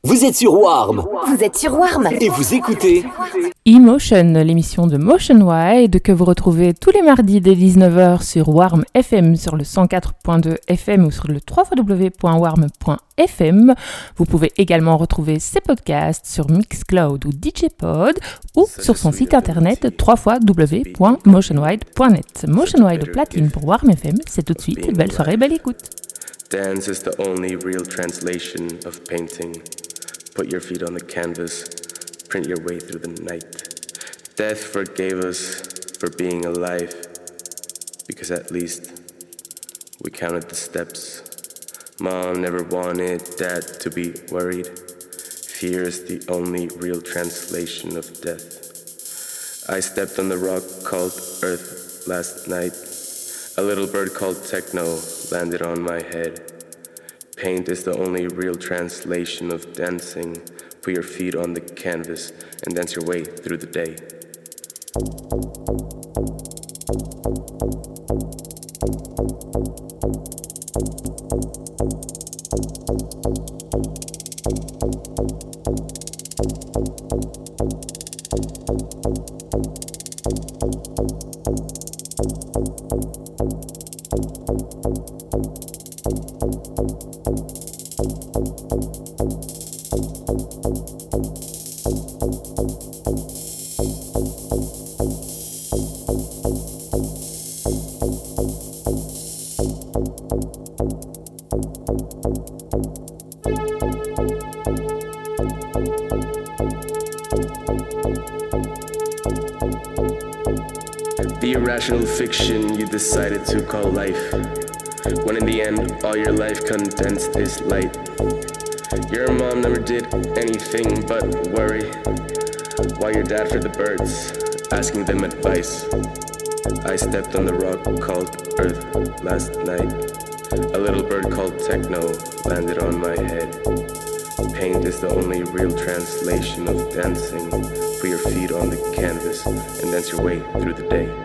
Vous êtes sur Warm. Vous êtes sur Warm. Et vous écoutez Emotion, l'émission de Motion Wide que vous retrouvez tous les mardis dès 19h sur Warm FM, sur le 104.2 FM ou sur le www.warm.fm. Vous pouvez également retrouver ses podcasts sur Mixcloud ou DJpod ou sur son site internet www.motionwide.net. Motion Wide au platine pour Warm FM, c'est tout de suite. Belle soirée, belle écoute. Dance is the only real translation of painting. Put your feet on the canvas, print your way through the night. Death forgave us for being alive, because at least we counted the steps. Mom never wanted Dad to be worried. Fear is the only real translation of death. I stepped on the rock called Earth last night. A little bird called Techno landed on my head. Paint is the only real translation of dancing. Put your feet on the canvas and dance your way through the day. The irrational fiction you decided to call life, when in the end all your life condensed is light. Your mom never did anything but worry, while your dad fed the birds, asking them advice. I stepped on the rock called Earth last night. A little bird called Techno landed on my head. Paint is the only real translation of dancing. Put your feet on the canvas and dance your way through the day.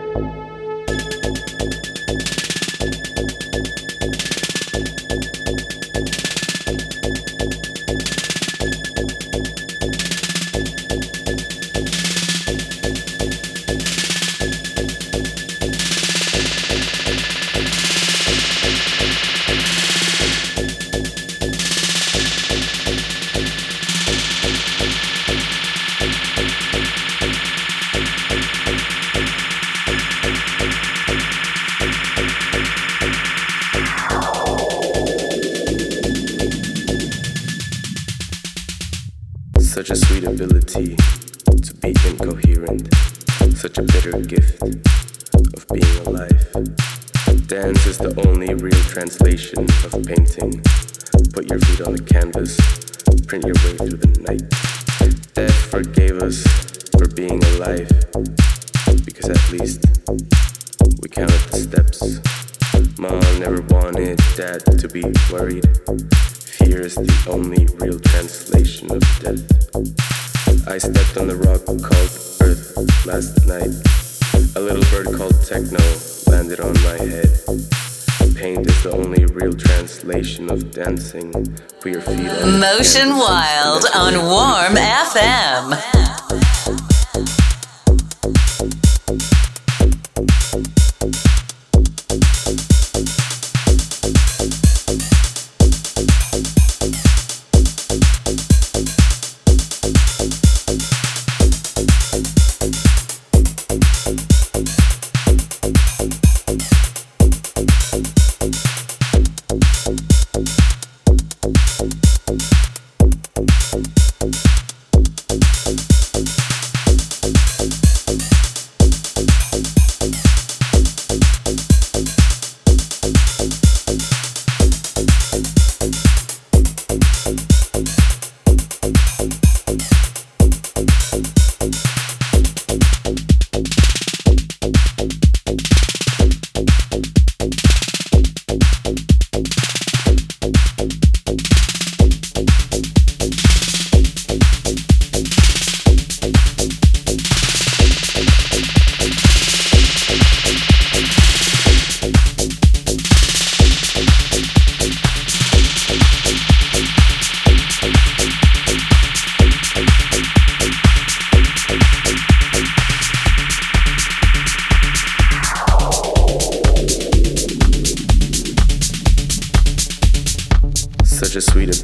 Such a sweet ability to be incoherent, such a bitter gift of being alive. Dance is the only real translation of painting. Put your feet on the canvas, print your way through the night. Death forgave us for being alive, because at least we counted the steps. Mom never wanted Dad to be worried. Fear is the only real translation of death. I stepped on the rock called Earth last night. A little bird called Techno landed on my head. Paint is the only real translation of dancing. Put your feet on Motion Wild on Warm FM.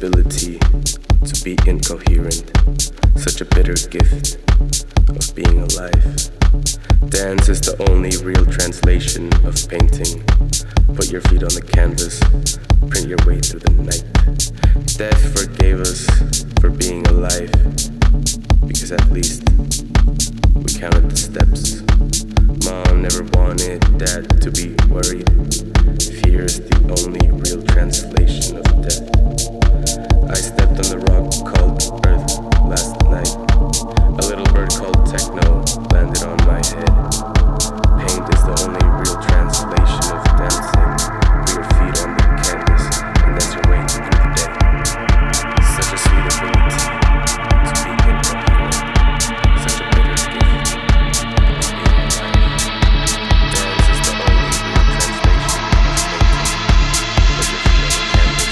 ability to be incoherent, such a bitter gift of being alive. Dance is the only real translation of painting. Put your feet on the canvas, print your way through the night. Death forgave us for being alive, because at least we counted the steps. Mom never wanted Dad to be worried. Fear is the only real translation of death. I stepped on the rock called Earth last night. A little bird called Techno landed on my head. Paint is the only real translation of dancing. Put your feet on the canvas and dance your way through the day. Such a sweet ability to be incoherent. Such a bitter gift of being alive. Dance is the only real translation of painting. Put your feet on the canvas.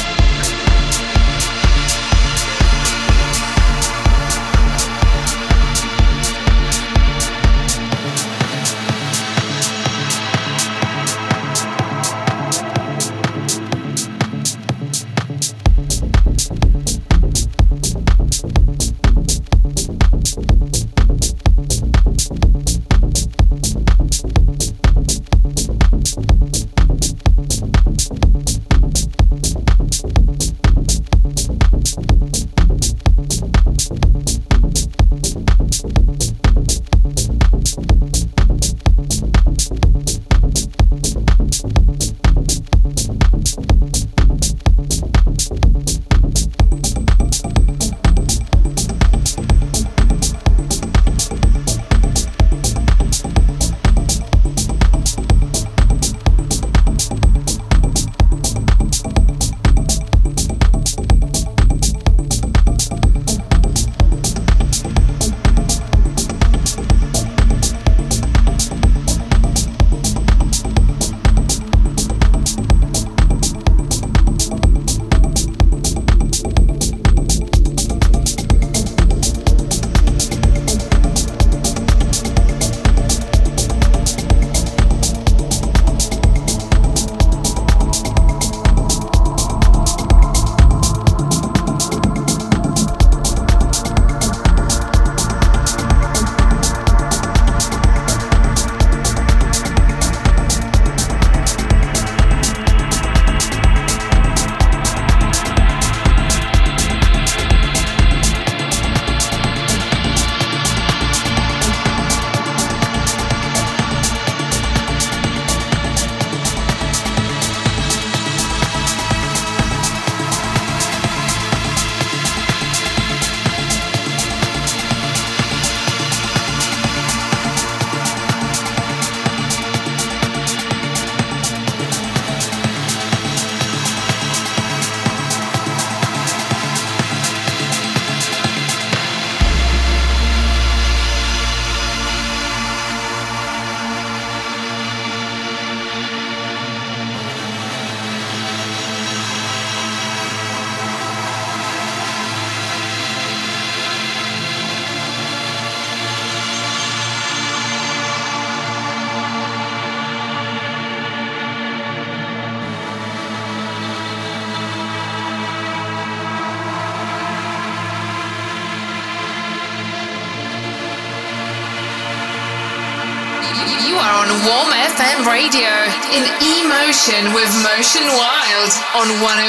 Warm FM Radio in E-Motion with Motion Wild on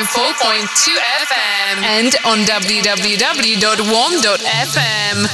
104.2 FM and on www.warm.fm.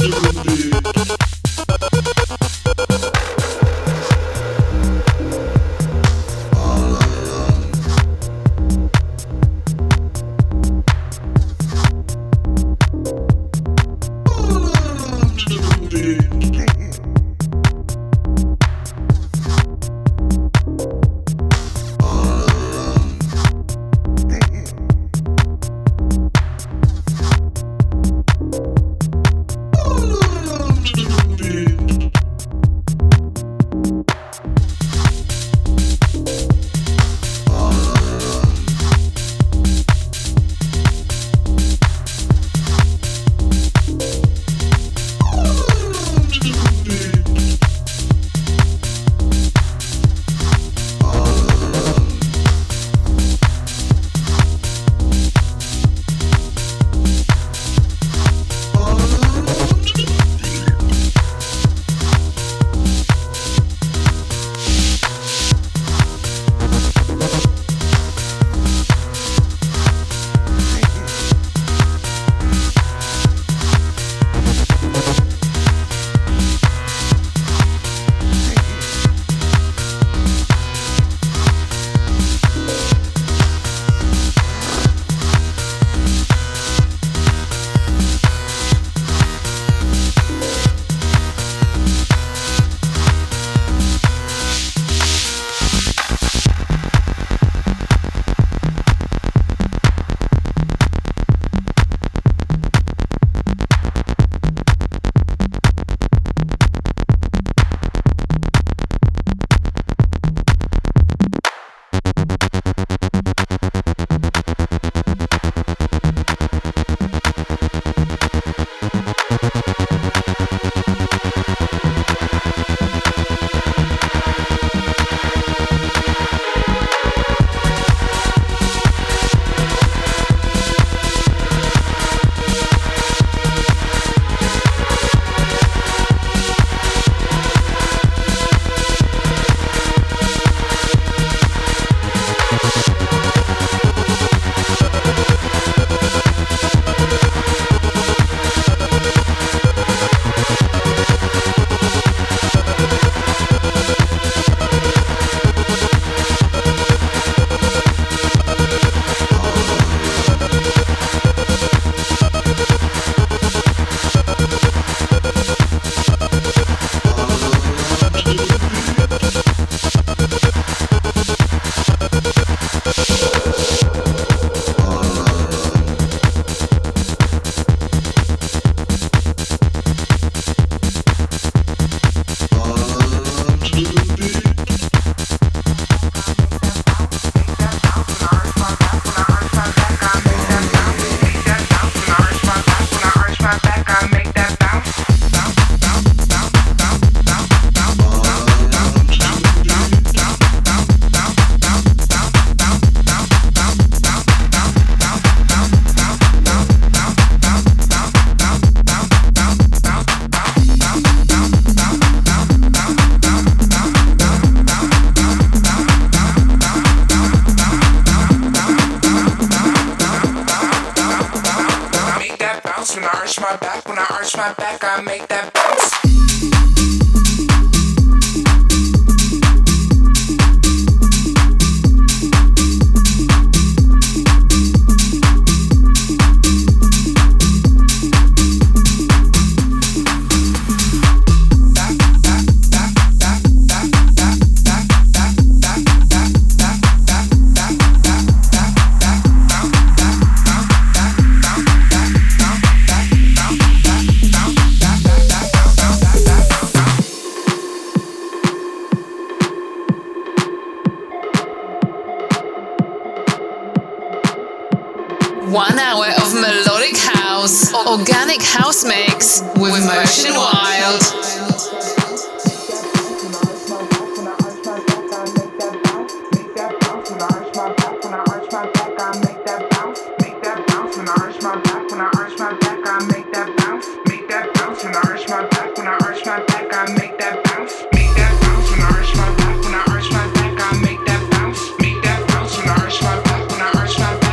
1 hour of melodic house, organic house mix with Motion Wild.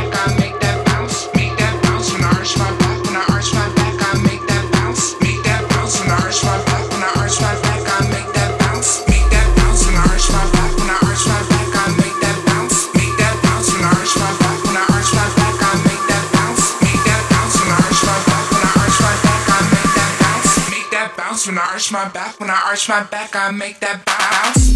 Make that bounce. When I arch my back, when I arch my back, I make that bounce.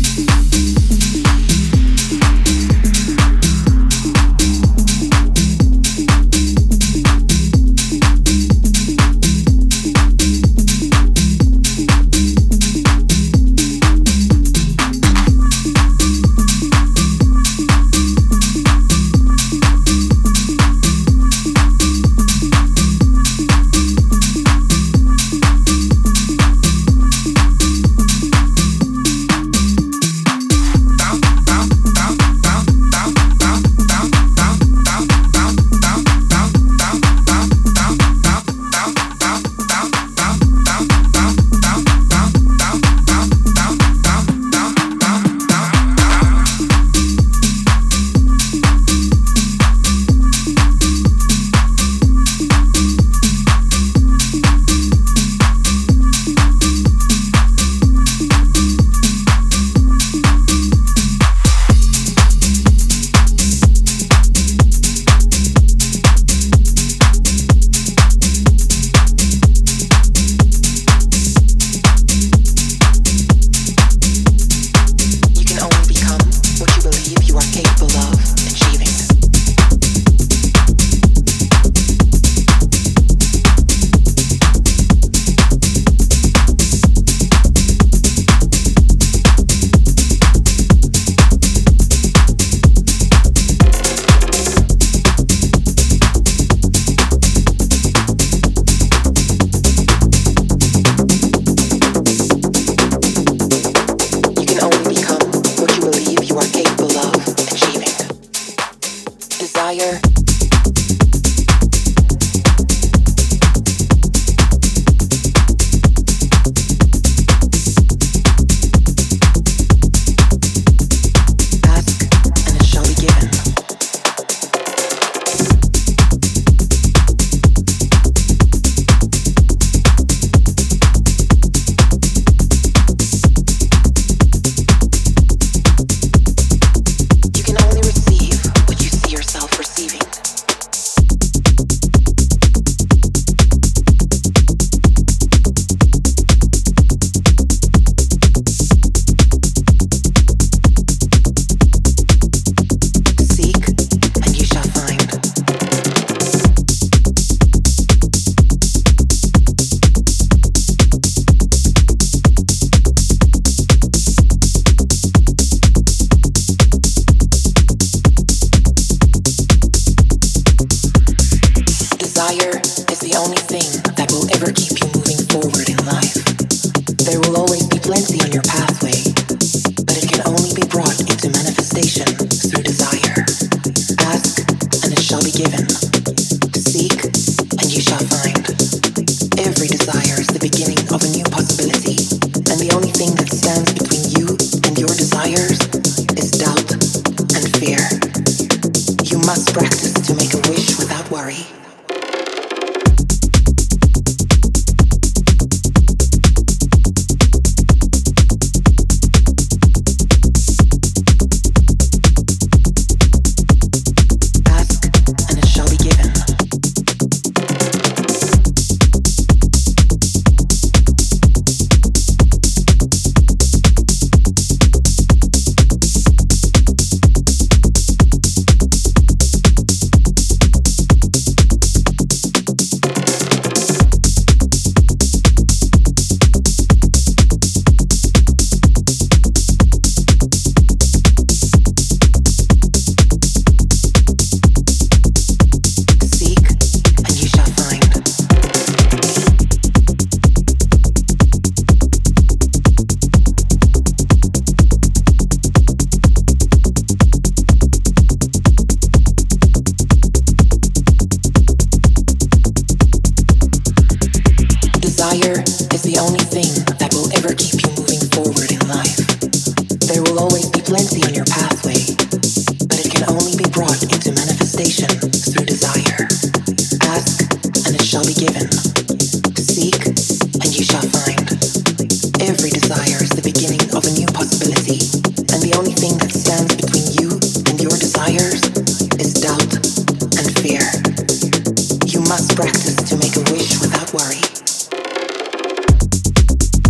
Practice to make a wish without worry.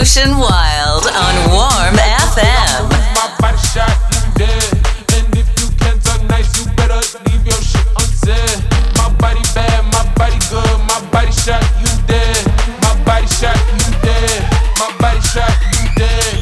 Motion Wild on Warm FM. My body shot, you dead. And if you can't talk nice, you better leave your shit unsaid. My body bad, my body good, my body shot, you dead. My body shot, you dead. My body shot, you dead.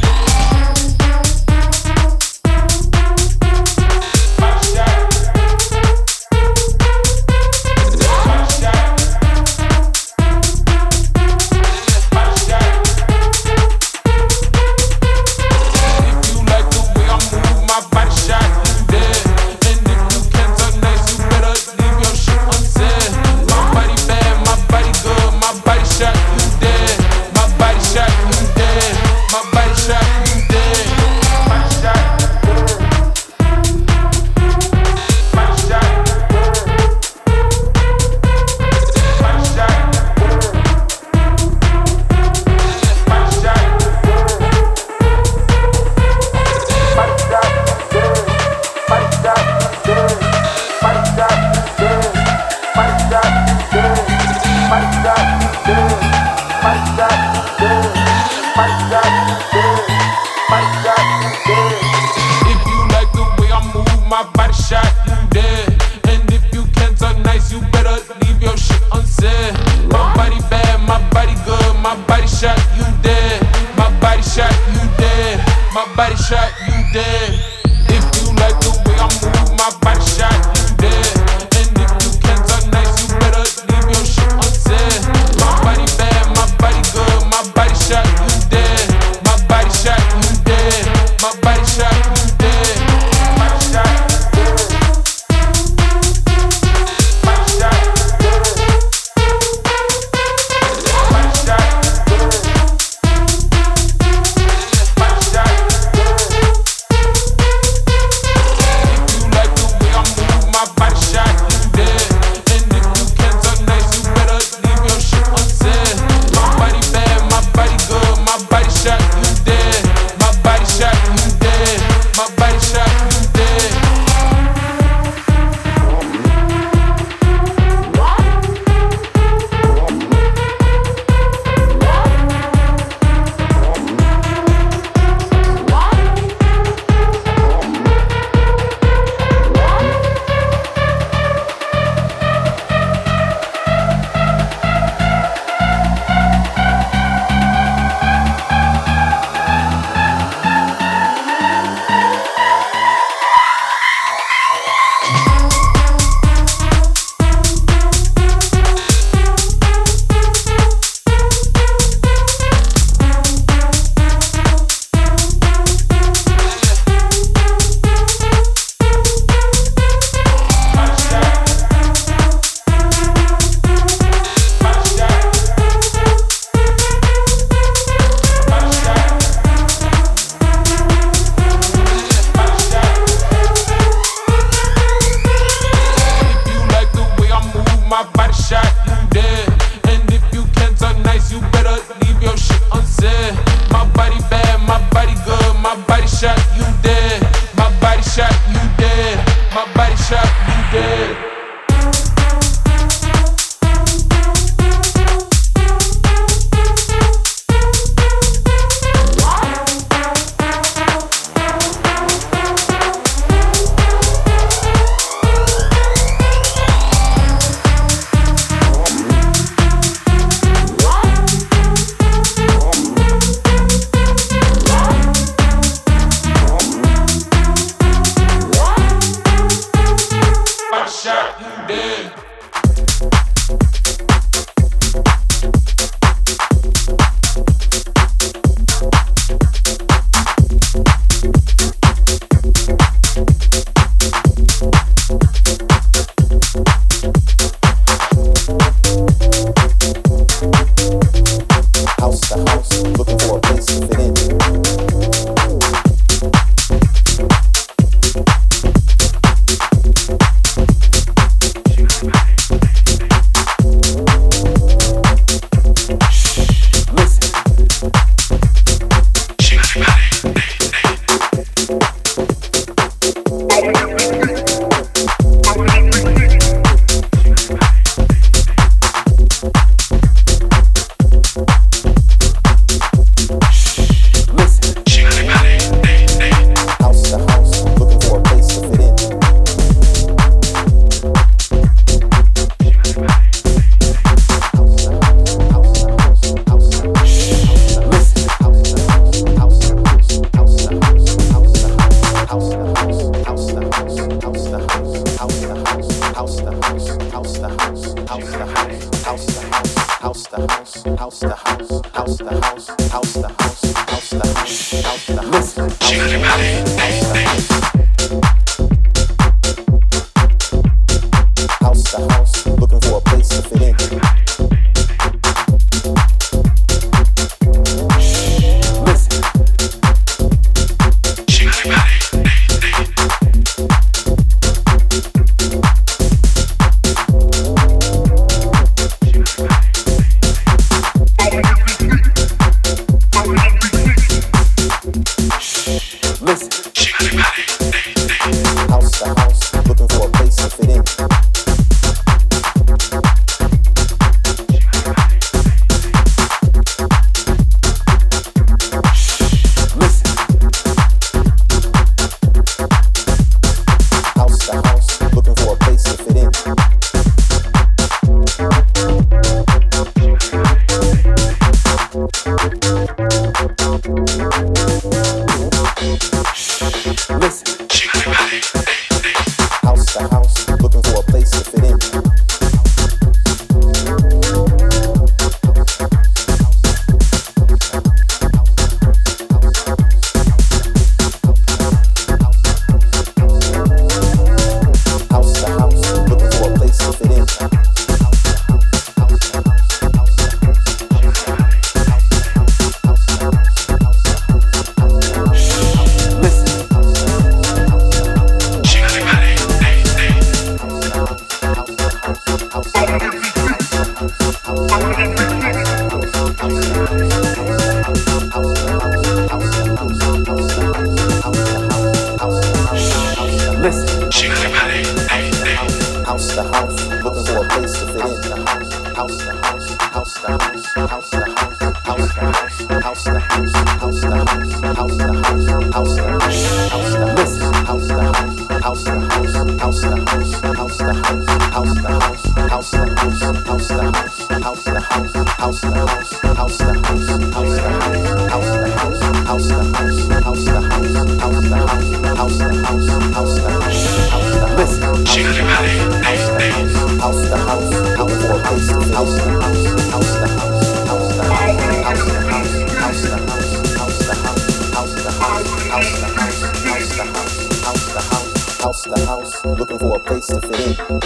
Looking for a place to fit in.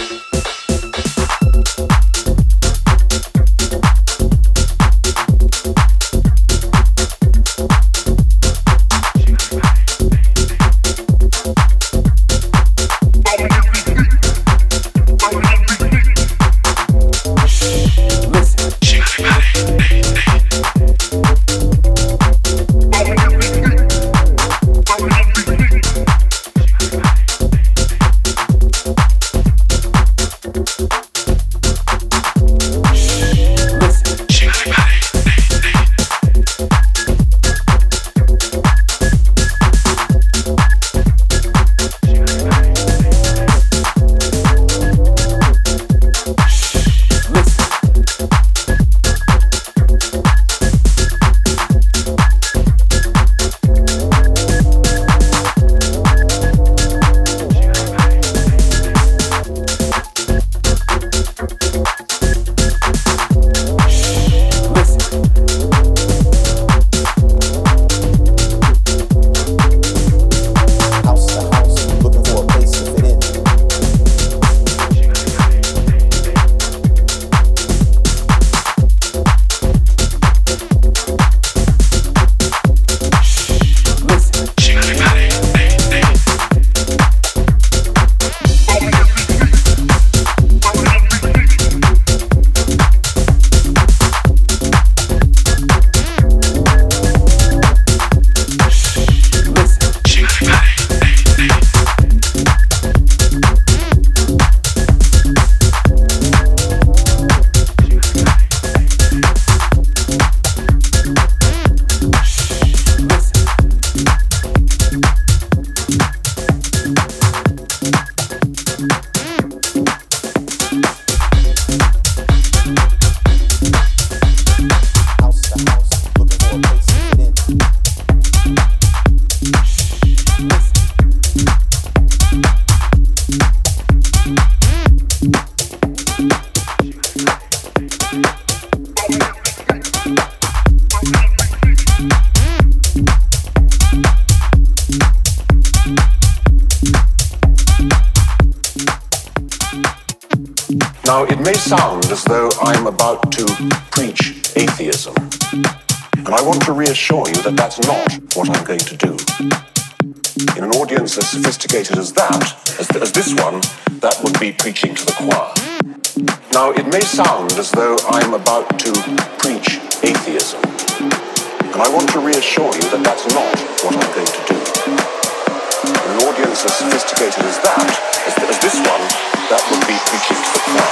Now, it may sound as though I'm about to preach atheism, and I want to reassure you that that's not what I'm going to do. In an audience as sophisticated as that, as this one, that would be preaching to the choir. Now, it may sound as though I'm about to preach atheism, and I want to reassure you that that's not what I'm going to do. In an audience as sophisticated as that, as this one, that would be preaching to the choir.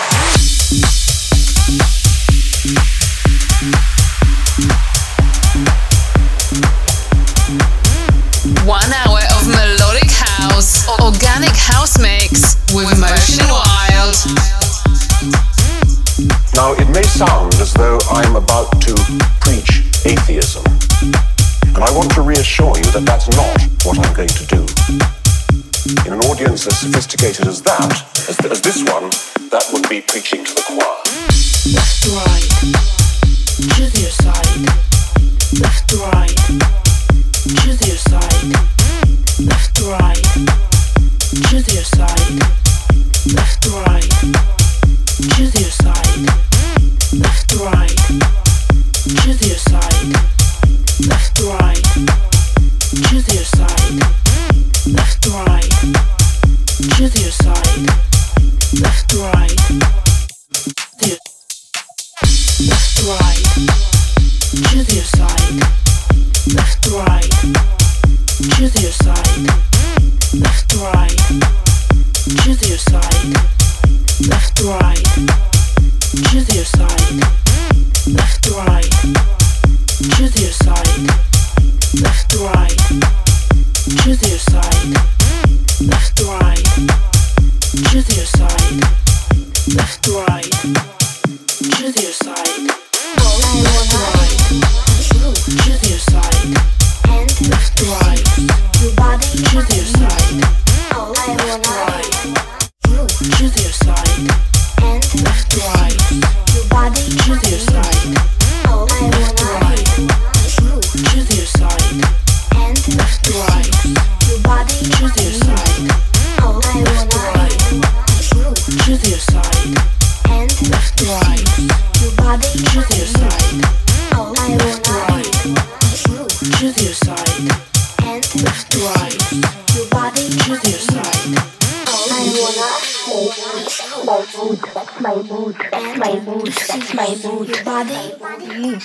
1 hour of melodic house, organic house mix with Motion Wild. Now, it may sound as though I'm about to preach atheism, and I want to reassure you that that's not what I'm going to do. In an audience as sophisticated as that, as this one, that would be preaching to the choir. Left to right, choose your side. Left to right, choose your side. Left to right, choose your side. Left to right, choose your side. Left to right, choose your side. Left to right, choose your side. Left to right, choose your side. Left to right, left to right, choose your side. Left to right, choose your side. Left to right, choose your side. Left to right, choose your side. Left to right, choose your side. Left to right, choose your side. Left to right, choose your side. Left to right, choose your side. Left to right, choose your side. Left to right, choose your side. Left to right, choose your side. Left to right, choose your side. Left to right, choose your side. Left to right, choose your side. Left to right, choose your side. Left to right, choose your side. Left to right, choose your side. Left to right, choose your side. My mood, that's my mood, that's my mood, that's my mood. Your body.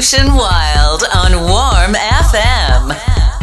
Motion Wild on Warm FM.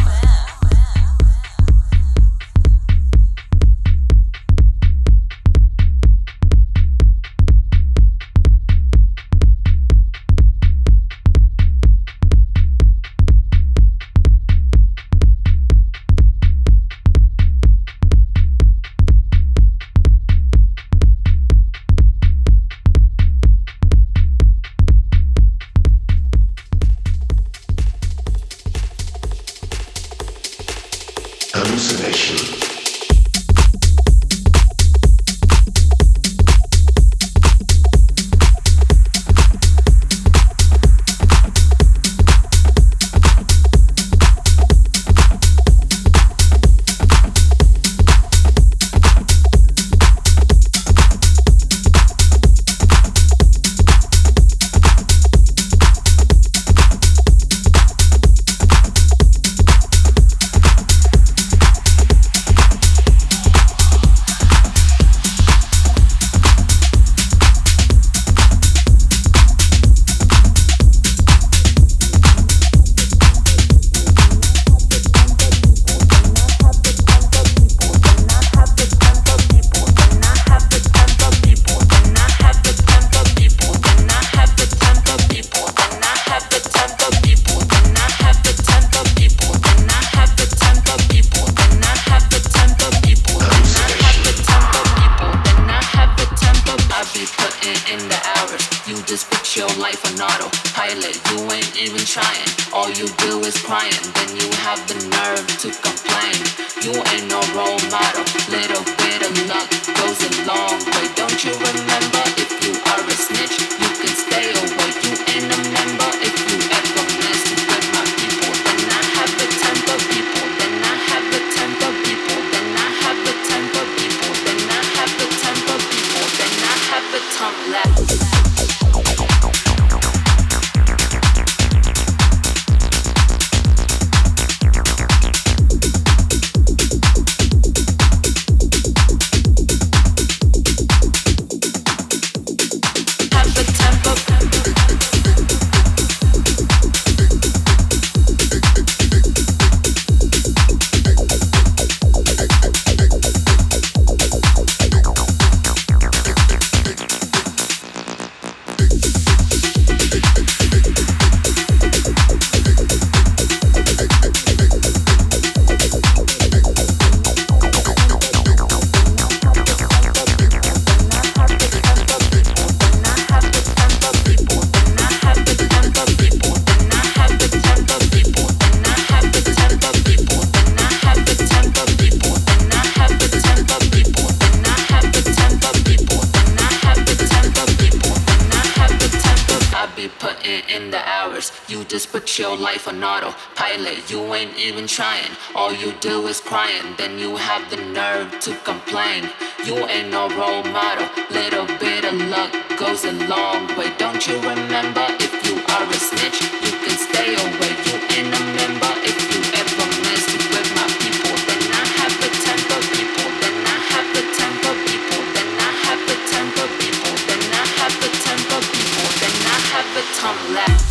Trying, all you do is crying, then you have the nerve to complain. You ain't no role model, little bit of luck goes a long way. Don't you remember, if you are a snitch, you can stay away. You ain't a member, if you ever mess with my people, then I have the temper people, then I have the temper people, then I have the temper people, then I have the temper people, then I have the tongue left.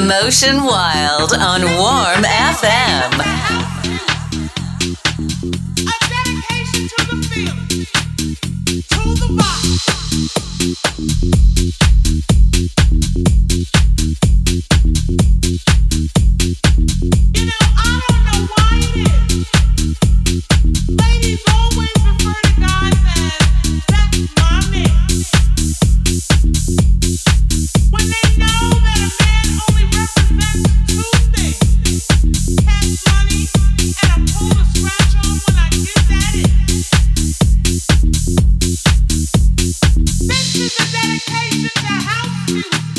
Motion Wild on Warm FM. This is a dedication to house music.